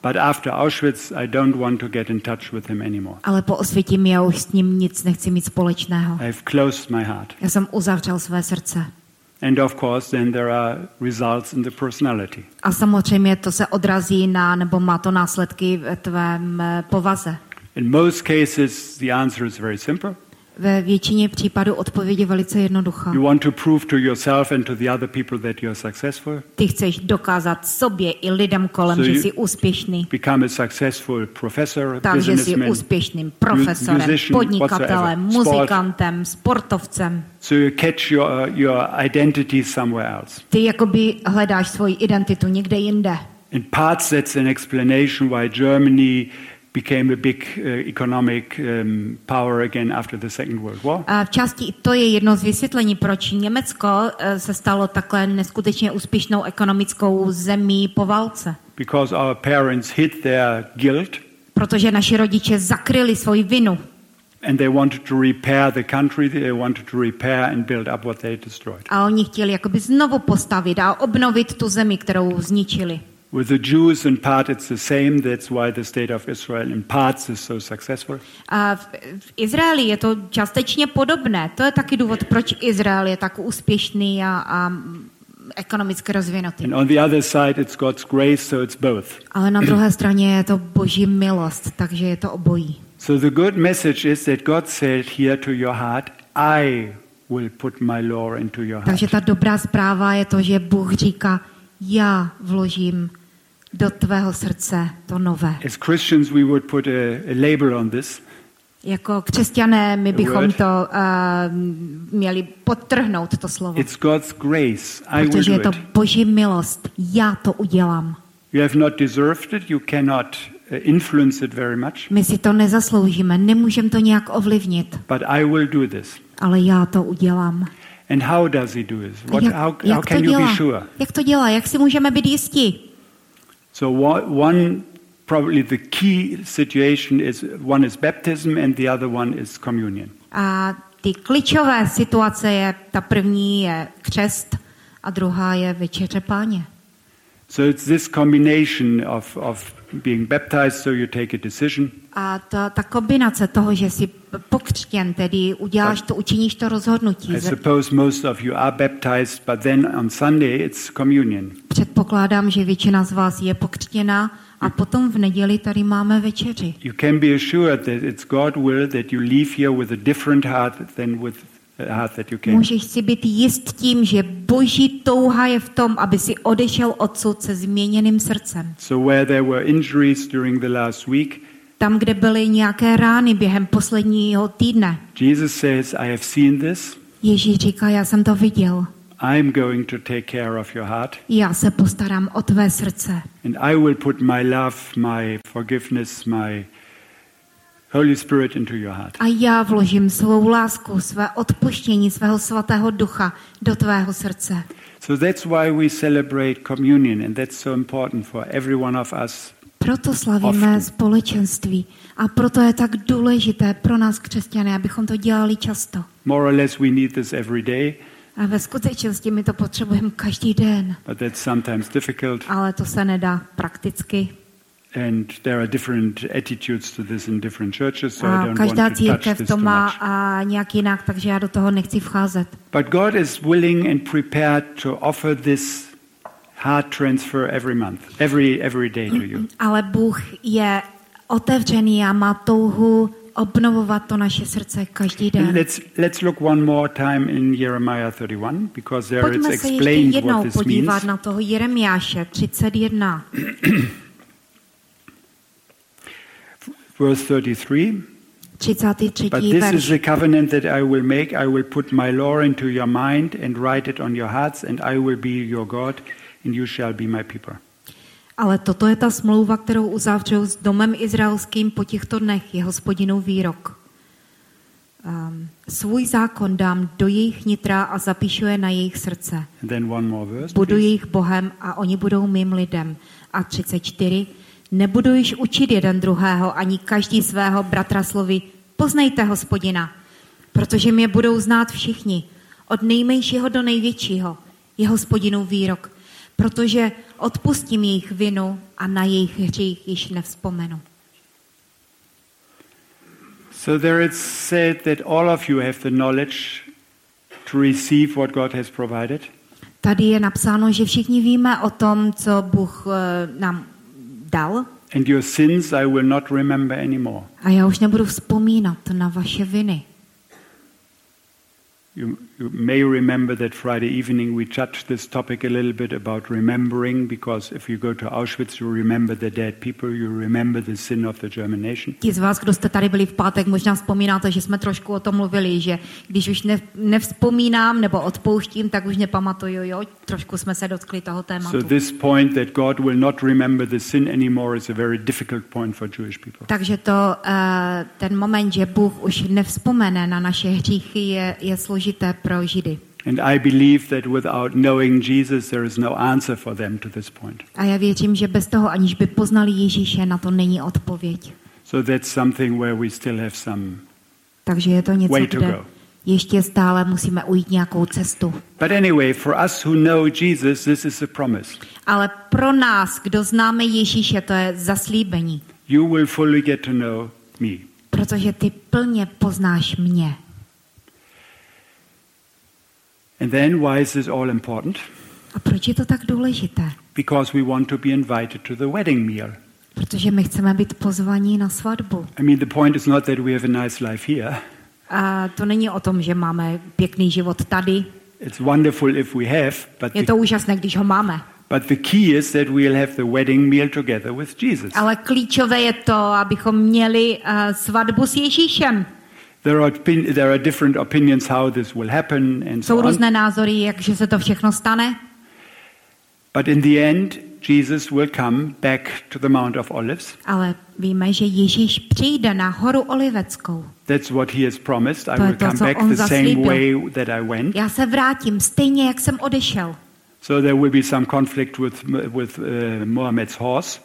But after Auschwitz, I don't want to get in touch with him anymore. Ale po Osvětimi já už s ním nic nechci mít společného. I've closed my heart. Já jsem uzavřel své srdce. And of course, then there are results in the personality. A samozřejmě to se odrazí nebo má to následky v tvém povaze. In most cases, the answer is very simple. Ve většině případů odpověď je velice jednoduchá. You want to prove to yourself and to the other people that you're successful. Ty chceš dokázat sobě i lidem kolem, že jsi úspěšný. Become a successful professor, Takže jsi businessman, úspěšným profesorem, musician, podnikatelem, muzikantem, sportovcem. So you catch your identity somewhere else. Ty jakoby hledáš svoji identitu někde jinde. In parts, that's an explanation why Germany became a big economic power again after the Second World War. A v části to je jedno z vysvětlení, proč Německo se stalo takhle neskutečně úspěšnou ekonomickou zemí po válce. Because our parents hid their guilt. Protože naši rodiče zakryli svoji vinu. And they wanted to repair the country, they wanted to repair and build up what they destroyed. A oni chtěli jakoby znovu postavit a obnovit tu zemi, kterou zničili. With the Jews, in part it's the same. That's why the state of Israel in parts is so successful. A v Izraeli je to částečně podobné. To je taky důvod, proč Izrael je tak úspěšný a ekonomicky rozvinutý. And on the other side it's God's grace, so it's both. Ale na druhé straně je to Boží milost, takže je to obojí. So the good message is that God said here to your heart, I will put my law into your heart. Takže ta dobrá zpráva je to, že Bůh říká, já vložím do tvého srdce to nové. As Christians we would put a label on this. Jako křesťané my bychom to měli podtrhnout to slovo. It's God's grace. I will Protože je do to it. Boží milost. Já to udělám. You have not deserved it. You cannot influence it very much. My si to nezasloužíme, nemůžeme to nějak ovlivnit. But I will do this. Ale já to udělám. And how does he do this? How Jak can to you dělá? be sure? Jak to dělá? Jak si můžeme být jistí? So one probably the key situation is one is baptism and the other one is communion. A ty klíčové situace je, ta první je křest a druhá je večeře Páně. So it's this combination of being baptized, so you take a decision. A ta kombinace toho, že jsi pokřtěn, tedy učiníš to rozhodnutí. I suppose most of you are baptized, but then on Sunday it's communion. Předpokládám, že většina z vás je pokřtěna a potom v neděli tady máme večeři. You can be assured that it's God's will that you leave here with a different heart than with a heart that you came. Můžeš si být jist tím, že Boží touha je v tom, aby si odešel odsud se změněným srdcem. So where there were injuries during the last week, Tam, kde byly nějaké rány během posledního týdne, Jesus says, I have seen this. Ježíš říká, já jsem to viděl. I'm going to take care of your heart. Já se postarám o tvé srdce. And I will put my love, my forgiveness, my Holy Spirit into your heart. A já vložím svou lásku, své odpuštění, svého svatého ducha do tvého srdce. So that's why we celebrate communion, and that's so important for every one of us. Proto slavíme společenství a proto je tak důležité pro nás křesťané, abychom to dělali často. More or less we need this every day, A ve skutečnosti my to potřebujeme každý den, but that's sometimes difficult. ale to se nedá prakticky. And there are different attitudes to this in different churches, so I A don't každá want to touch církev this to too má much. a nějak jinak, takže já do toho nechci vcházet. But God is willing and prepared to offer this heart transfer every month, every day to you. Ale Bůh je otevřený a má touhu obnovovat to naše srdce každý And den. let's look one more time in Jeremiah 31, because there it's Pojďme se ještě explained what jednou this podívat means. na toho Jeremiáše 31. Verse 33. 33. But this is verš. the covenant that I will make. I will put my law into your mind and write it on your hearts, and I will be your God, and you shall be my people. Ale toto je ta smlouva, kterou uzavřou s domem izraelským po těchto dnech, je Hospodinův výrok. Svůj zákon dám do jejich nitra a zapíšu je na jejich srdce. And then one more verse. Budu please. jejich Bohem a oni budou mým lidem. A 34. Nebudu již učit jeden druhého, ani každý svého bratra slovy, poznejte Hospodina, protože mě budou znát všichni, od nejmenšího do největšího, je Hospodinův výrok. protože odpustím jejich vinu a na jejich hřích již nevzpomenu. So there it's said that all of you have the knowledge to receive what God has provided. Tady je napsáno, že všichni víme o tom, co Bůh nám dal. And your sins I will not remember anymore. A já už nebudu vzpomínat na vaše viny. You may remember that Friday evening we touched this topic a little bit about remembering, because if you go to Auschwitz you remember the dead people, you remember the sin of the German nation. Ti z vás, kdo jste tady byli v pátek, možná vzpomínáte, že jsme trošku o tom mluvili, že když už nevzpomínám nebo odpouštím, tak už nepamatuju, jo? Trošku jsme se dotkli toho tématu. So this point that God will not remember the sin anymore is a very difficult point for Jewish people. Takže to, ten moment, že Bůh už nevzpomene na naše hříchy, je složité pro Židy. And I believe that without knowing Jesus there is no answer for them to this point. A já věřím, že bez toho, aniž by poznali Ježíše, na to není odpověď. So that's something where we still have some Takže je to něco, way to kde go. ještě stále musíme ujít nějakou cestu. But anyway, for us who know Jesus, this is a promise. Ale pro nás, kdo známe Ježíše, to je zaslíbení. You will fully get to know me. Protože ty plně poznáš mě. And then why is this all important? A proč je to tak důležité? Because we want to be invited to the wedding meal. Protože my chceme být pozvaní na svatbu. I mean, the point is not that we have a nice life here. A to není o tom, že máme pěkný život tady. It's wonderful if we have, Je to úžasné, když ho máme. but the key is that we'll have the wedding meal together with Jesus. Ale klíčové je to, abychom měli svatbu s Ježíšem. There are different opinions how this will happen and Jsou so on. různé názory, jakže se to všechno stane. But in the end, Jesus will come back to the Mount of Olives. Ale víme, že Ježíš přijde na horu Oliveckou. That's what he has promised. I To je will to, come co back on the same zaslíbil. way that I went. Já se vrátím stejně, jak jsem odešel. So there will be some conflict with Muhammad's horse.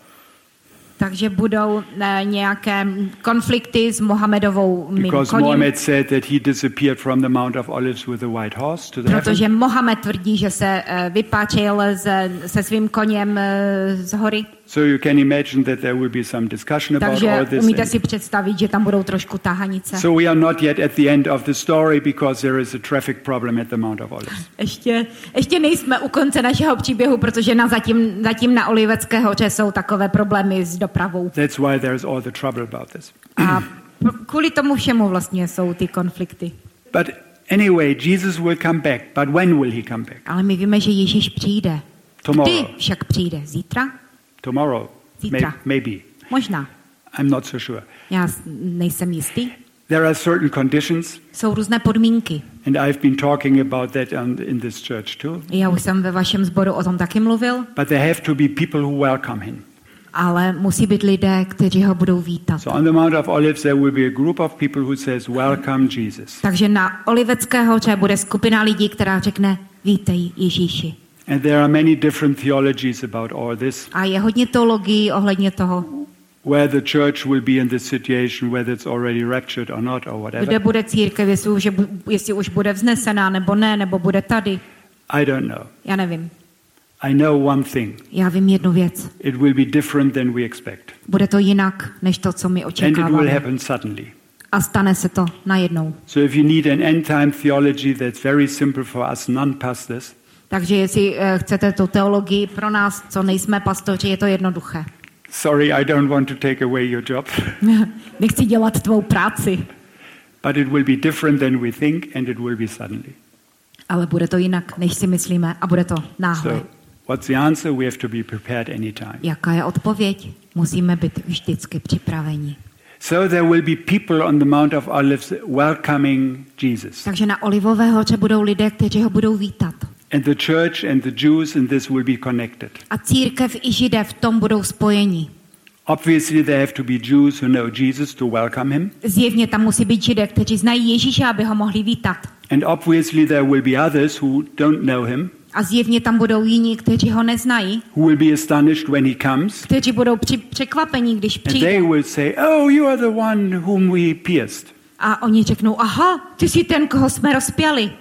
Takže budou nějaké konflikty s Mohamedovou Because koním. Muhammad said that he disappeared from the Mount of Olives with a white horse to the heaven. Protože Mohamed tvrdí, že se vypáčil se svým koněm z hory. So you can imagine that there will be some discussion about all Takže this. umíte si představit, že tam budou trošku tahanice. So we are not yet at the end of the story because there is a traffic problem at the Mount of Olives. Ještě nejsme u konce našeho příběhu, protože zatím na Olivecké hoře jsou takové problémy s dopravou. That's why there is all the trouble about this. A kvůli tomu všemu vlastně jsou ty konflikty. But anyway, Jesus will come back. But when will he come back? Ale my víme, že Ježíš přijde. Tomorrow. Kdy však přijde? Zítra? Tomorrow. Zítra. Maybe. Možná. I'm not so sure. Já nejsem jistý. There are certain conditions, Jsou různé podmínky. and I've been talking about that in this church too. Já už jsem ve vašem sboru o tom taky mluvil, But there have to be people who welcome him. ale musí být lidé, kteří ho budou vítat. So on the Mount of Olives there will be a group of people who says, "Welcome Jesus." Takže na Olivecké hoře bude skupina lidí, která řekne, vítej Ježíši. And there are many different theologies about all this. A je hodně teologií ohledně toho, Where the church will be in this situation, whether it's already raptured or not, or kde whatever. bude církev, jestli už bude vznesená, nebo ne, nebo bude tady. I don't know. Já nevím. I know one thing. Já vím jednu věc. It will be different than we expect. Bude to jinak, než to, co my And it will očekáváme. happen suddenly. A stane se to najednou. So if you need an end-time theology that's very simple for us non-pastors, Takže jestli chcete tu teologii pro nás, co nejsme pastoři, je to jednoduché. sorry, I don't want to take away your job. Nechci dělat tvou práci, But it will be different than we think, and it will be suddenly. ale bude to jinak, než si myslíme, a bude to náhle. So what's the answer? We have to be prepared anytime. Jaká je odpověď? Musíme být vždycky připraveni. So there will be people on the Mount of Olives welcoming Jesus. Takže na Olivové hoře budou lidé, kteří ho budou vítat. And the church and the Jews in this will be connected. A církev i Židé v tom budou spojeni. Obviously there have to be Jews who know Jesus to welcome him. Zjevně tam musí být Židé, kteří znají Ježíše, aby ho mohli vítat. And obviously there will be others who don't know him, A zjevně tam budou jiní, kteří ho neznají, who will be astonished when he comes. kteří budou překvapení, když And they přijde. will say, "Oh, you are the one whom we pierced." A oni řeknou, aha, ty jsi ten, koho jsme rozpěli.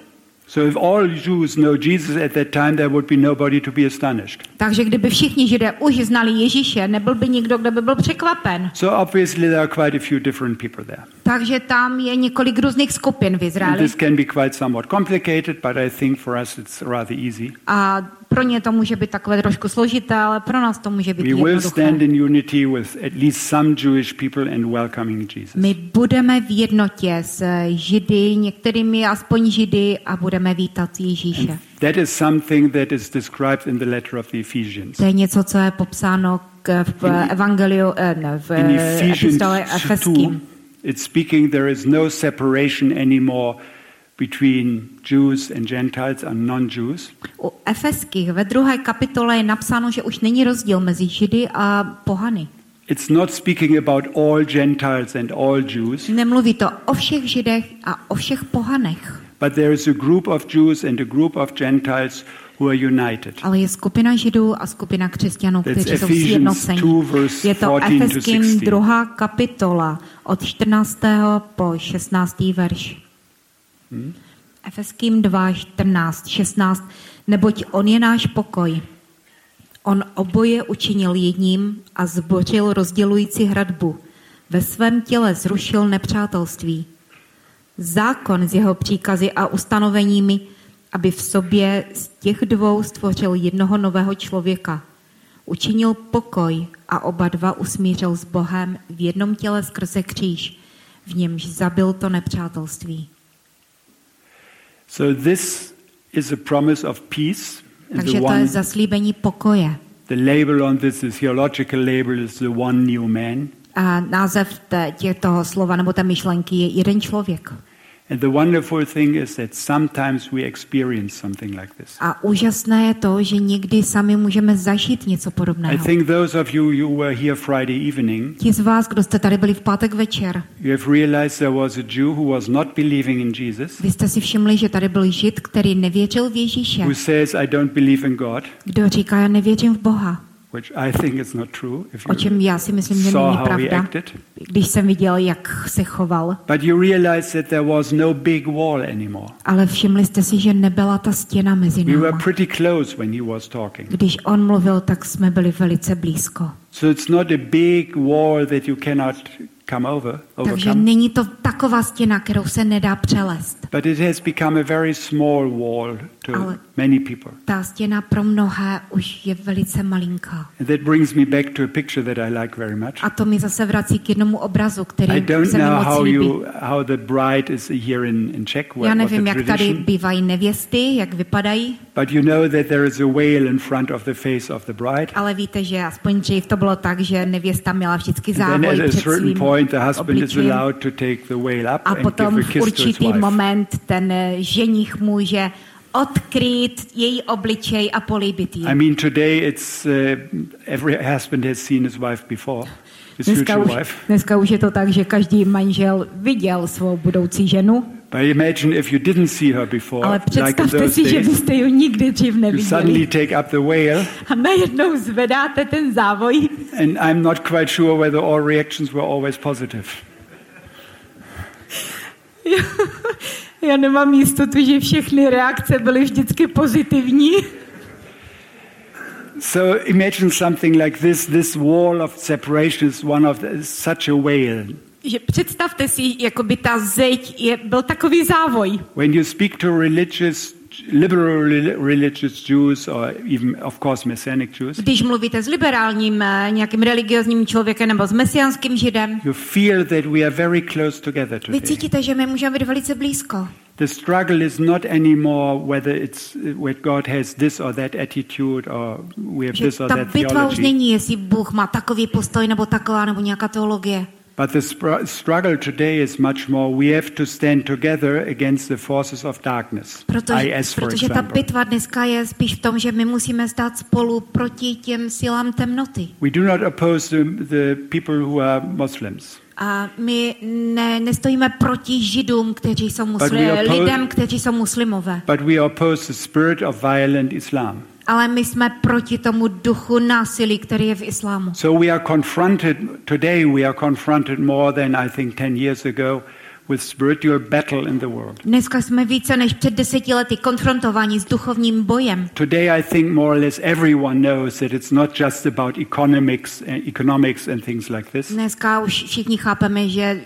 So if all Jews know Jesus at that time, there would be nobody to be astonished. Takže kdyby všichni Židé už znali Ježíše, nebyl by nikdo, kdo by byl překvapen. So obviously there are quite a few different people there. Takže tam je několik různých skupin v Izraeli. This can be quite somewhat complicated, but I think for us it's rather easy. A pro ně to může být takové trošku složité, ale pro nás to může být We will jednoduché. stand in unity with at least some Jewish people and welcoming Jesus. My budeme v jednotě s Židy, některými aspoň Židy, a budeme vítat Ježíše. And that is something that is described in the letter of the Ephesians. To je něco, co je popsáno v evangeliu, v epistole Efeským. It's speaking there is no separation anymore between Jews and Gentiles and non-Jews. U Efeských ve 2. kapitole je napsáno, že už není rozdíl mezi Židy a pohany. It's not speaking about all Gentiles and all Jews. Nemluví to o všech Židech a o všech pohanech. But there is a group of Jews and a group of Gentiles who are united. Ale je skupina Židů a skupina křesťanů, That's kteří jsou Ephesians sjednoceni. 2, verse Je to 14 to Efeským 16. 2. kapitola od 14. po 16. verš. Efeským 2, 14, 16. Neboť on je náš pokoj. On oboje učinil jedním a zbořil rozdělující hradbu. Ve svém těle zrušil nepřátelství. Zákon s jeho příkazy a ustanoveními, aby v sobě z těch dvou stvořil jednoho nového člověka. Učinil pokoj a oba dva usmířil s Bohem v jednom těle skrze kříž, v němž zabil to nepřátelství. So this is a promise of peace. And Takže to je zaslíbení pokoje. the label on this, the theological label, is the one new man. A název toho slova nebo té myšlenky je jeden člověk. And the wonderful thing is that sometimes we experience something like this. A úžasné je to, že někdy sami můžeme zažít něco I podobného. think those of you who were here Friday evening, Ti z vás, kdo jste tady byli v pátek večer, you have realized there was a Jew who was not believing in Jesus, vy jste si všimli, že tady byl Žid, který nevěřil v Ježíše, who says, I don't believe in God, kdo říká, já nevěřím v Boha. which I think is not true if O čem já si myslím, že saw není how he pravda, acted. když jsem viděl, jak se choval. But you realize that there was no big wall anymore. Ale všimli jste si, že nebyla ta stěna mezi We were námi. pretty close when he was talking. Když on mluvil, tak jsme byli velice blízko. So it's not a big wall that you cannot Takže overcome. není to taková stěna, kterou se nedá přelést. But it has become a very small wall to Ale- many people. Ta stěna pro mnohé už je velice malinká. And that brings me back to a picture that I like very much. A to mi zase vrací k jednomu obrazu, I který don't se mi know moc líbí. how the bride is here in Czech, Já what nevím, the jak tady tradition. bývají nevěsty, jak vypadají, But you know that there is a veil in front of the face of the bride. ale víte, že aspoň dřív to bylo tak, že nevěsta měla vždycky And then závoj at a před certain svým point the husband is obličejem. allowed to take the veil up A and potom give a v kiss to his určitý wife. moment ten ženich může odkrýt její obličej a políbit ji. I mean, today it's every husband has seen his wife before, his future wife. Dneska už je to tak, že každý manžel viděl svou budoucí ženu, But imagine if you didn't see her before, ale like in představte those si, že days. byste ji nikdy dřív You neviděli. suddenly take up the veil, A najednou zvedáte ten závoj. and I'm not quite sure whether all reactions were always positive. Já nemám jistotu, že všechny reakce byly vždycky pozitivní. So imagine something like this. This wall of separation is such a veil. Že představte si, jako by ta zeď byl takový závoj. When you speak to liberal religious Jews, or even, of course, Messianic Jews, Když mluvíte s liberálním nějakým religiozním člověkem nebo s mesiánským židem, you feel that we are very close together vy today. cítíte, že my můžeme být velice blízko. The struggle is not anymore whether God has this or that attitude, or we have Že this or ta that bitva už theology. není, jestli Bůh má takový postoj nebo taková nebo nějaká teologie. But the struggle today is much more. We have to stand together against the forces of darkness. IS, for Protože ta example. bitva dneska je spíš v tom, že my musíme stát spolu proti těm silám temnoty. We do not oppose the people who are Muslims. A my nestojíme proti židům, kteří jsou lidem, kteří jsou muslimové. But we oppose the spirit of violent Islam. Ale my jsme proti tomu duchu násilí, který je v islámu. So we are confronted more than I think 10 years ago with spiritual battle in the world. Dneska jsme více než před 10 lety konfrontováni s duchovním bojem. Today I think more or less everyone knows that it's not just about economics and things like this. Dneska už všichni chápeme, že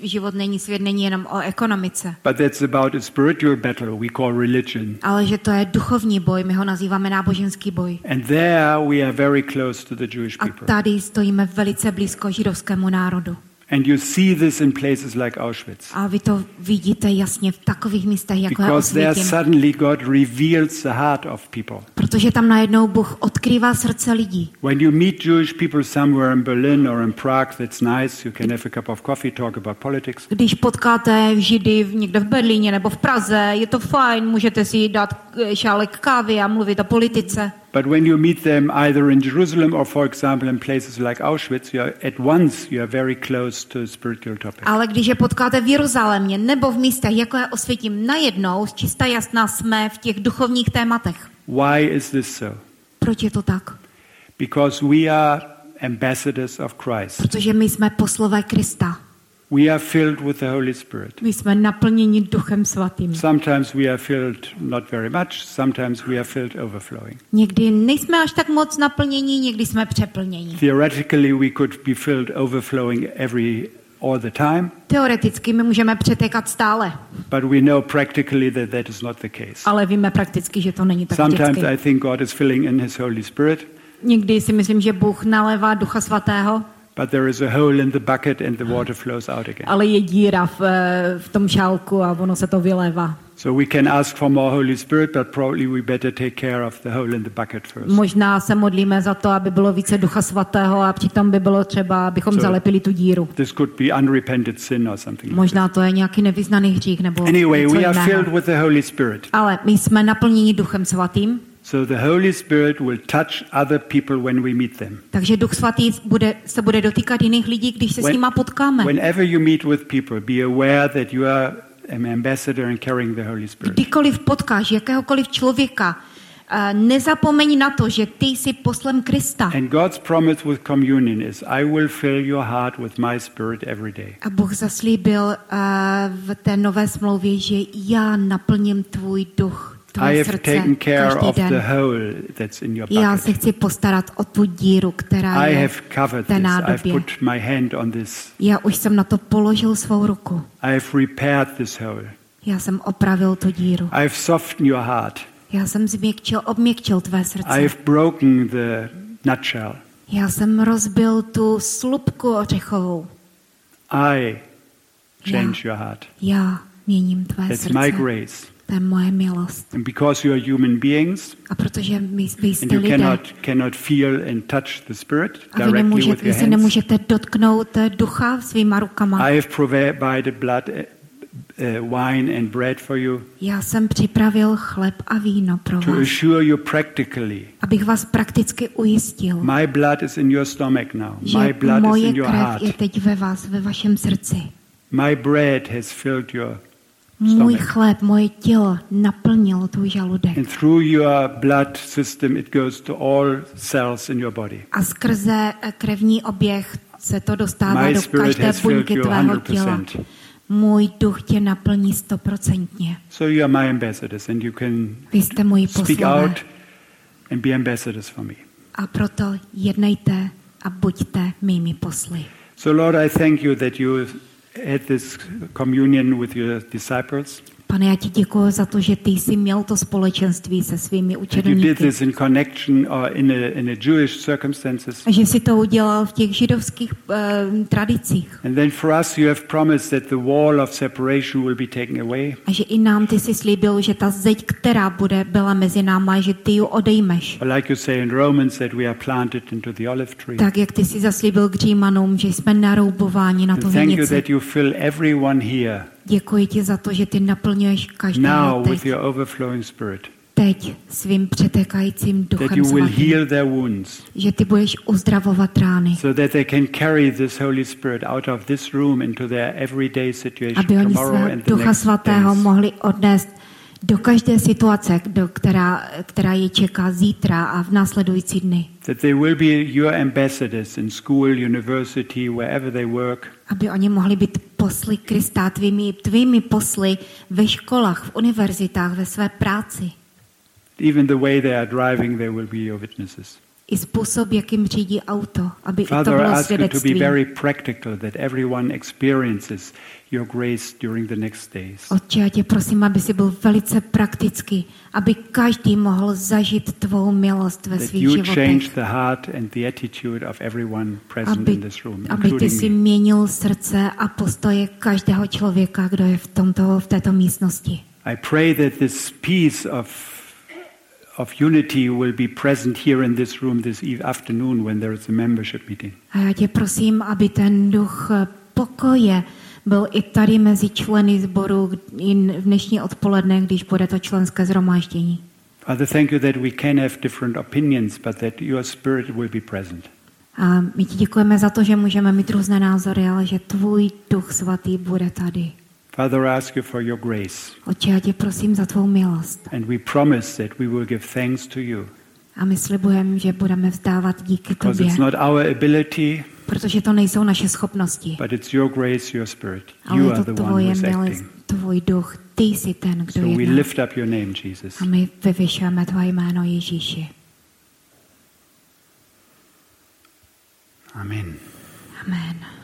svět není jenom o ekonomice. But that's about a spiritual battle we call religion. Ale že to je duchovní boj, my ho nazýváme náboženský boj. And there we are very close to the Jewish A people. tady stojíme velice blízko židovskému národu. And you see this in places like Auschwitz. A vy to vidíte jasně v takových místech, jako je Because there Osvětim. suddenly God reveals the heart of people. Protože tam najednou Bůh odkrývá srdce lidí. When you meet Jewish people somewhere in Berlin or in Prague, that's nice. You can have a cup of coffee, talk about politics. Když potkáte Židy někde v Berlíně nebo v Praze, je to fajn, můžete si dát šálek kávy a mluvit o politice. But when you meet them either in Jerusalem or, for example, in places like Auschwitz, you are very close to spiritual topics. Ale když je potkáte v Jeruzalémě nebo v místech, jako je Osvětim, najednou čistá jasná jsme v těch duchovních tématech. Why is this so? Proč je to tak? Because we are ambassadors of Christ. Protože my jsme poslové Krista. We are filled with the Holy Spirit. My jsme naplněni Duchem Svatým. Sometimes we are filled not very much, sometimes we are filled overflowing. Někdy nejsme až tak moc naplnění, někdy jsme přeplnění. Theoretically we could be filled overflowing all the time. Teoreticky my můžeme přetékat stále. But we know practically that is not the case. Ale víme prakticky, že to není tak Sometimes vždycky. I think God is filling in His Holy Spirit. Někdy si myslím, že Bůh nalévá Ducha Svatého, But there is a hole in the bucket and the water flows out again. ale je díra v tom šálku a ono se to vylévá. So we can ask for more Holy Spirit, but probably we better take care of the hole in the bucket first. Možná se modlíme za to, aby bylo více Ducha Svatého a přitom by bylo třeba, abychom zalepili tu díru. This could be unrepented sin or something. Možná to je nějaký nevyznaný hřích nebo Anyway, něco we are jiného. filled with the Holy Spirit. Ale my jsme naplněni Duchem Svatým, So the Holy Spirit will touch other people when we meet them. takže Duch Svatý se bude dotýkat jiných lidí, když se s nima potkáme. Whenever you meet with people, be aware that you are an ambassador and carrying the Holy Spirit. Kdykoliv potkáš jakéhokoliv člověka, nezapomeň na to, že ty jsi poslem Krista. And God's promise with communion is, I will fill your heart with my spirit every day. A Bůh zaslíbil v té nové smlouvě, že já naplním tvůj duch, I tvoje have srdce taken care každý of the den. hole that's in your Já se bucket. chci postarat o tu díru, která I je have v covered té this. I've nádobě. put my hand on this. Já už jsem na to položil svou ruku. I have repaired this hole. Já jsem opravil tu díru. I have softened your heart. Já jsem obměkčil tvé I srdce. have broken the nutshell. Já jsem rozbil tu slupku ořechovou. I change your heart. Já měním tvé That's srdce. my grace. To je moje milost. And because you are human beings, A protože vy and jste you lidé, cannot feel and touch the Spirit a vy, directly with vy your se hands, nemůžete dotknout ducha svýma rukama. I have provided blood, wine and bread for you Já jsem připravil chleb a víno pro to vás, assure you practically. abych vás prakticky ujistil, My blood is in your stomach now. My že blood is moje in your krev heart. je teď ve vás, ve vašem srdci. My bread has filled your Můj stomach. chléb, moje tělo naplnilo tvůj žaludek. And through your blood system, it goes to all cells in your body. A skrze krevní oběh se to dostává My do spirit každé has filled buňky you tvého těla. 100%. Můj duch tě naplní 100%. So you are my ambassadors, and you can Vy jste moji speak poslové. out and be ambassadors for me. A proto jednejte a buďte mými posly. So Lord, I thank you that you had this communion with your disciples. Pane, já ti děkuji za to, že ty jsi měl to společenství se svými That you did učedníky. this in connection or in a Jewish circumstances. A že jsi to udělal v těch židovských tradicích. And then for us you have promised that the wall of separation will be taken away. A že i nám ty jsi slíbil, že ta zeď, která byla mezi náma, že ty ji odejmeš. Or like you say in Romans, that we are planted into the olive tree. Tak, jak ty jsi zaslíbil k Římanům, že jsme naroubováni na tu And thank you vinici. that you fill everyone here Děkuji ti za to, že ty naplňuješ každého now with teď, your overflowing spirit. teď svým přetékajícím That duchem you will svatým. heal their wounds Že ty budeš uzdravovat rány, so that they can carry this Holy Spirit out of this room into their everyday situation aby oni tomorrow svého and the ducha next svatého days. mohli odnést do každé situace, která je čeká zítra a v následující dny. That they will be your ambassadors in school, university, wherever they work. Aby oni mohli být posly Krista, tvými posly ve školách, v univerzitách, ve své práci. Even the way they are driving, they will be your witnesses. I způsob, jakým řídí auto, aby Father, i to I bylo ask you to be svědectví. very practical, that everyone experiences your grace during the next days. Otče, já tě prosím, aby si byl velice praktický, aby každý mohl zažít tvou milost ve That svých you change životech. the heart and the attitude of everyone present in this room, Aby ty including si me. měnil srdce a postoje každého člověka, kdo je v této místnosti. I pray that this peace of unity will be present here in this room this afternoon when there is a membership meeting. A já tě prosím, aby ten duch pokoje byl i tady mezi členy sboru i v dnešní odpoledne, když bude to členské shromáždění. Father, thank you that we can have different opinions, but that your spirit will be present. A my ti děkujeme za to, že můžeme mít různé názory, ale že tvůj duch svatý bude tady. Father, I ask you for your grace. Otče, já tě prosím za tvou milost. And we promise that we will give thanks to you. A my slibujeme, že budeme vzdávat díky Because tobě. it's not our ability, Protože to nejsou naše schopnosti. but it's your grace, your spirit. Ale You je are to the one tvoje who is milost, acting. tvůj duch. Ty jsi ten, kdo So we jedná. lift up your name, Jesus. A my vyvyšujeme tvoje jméno Ježíši. Amen. Amen.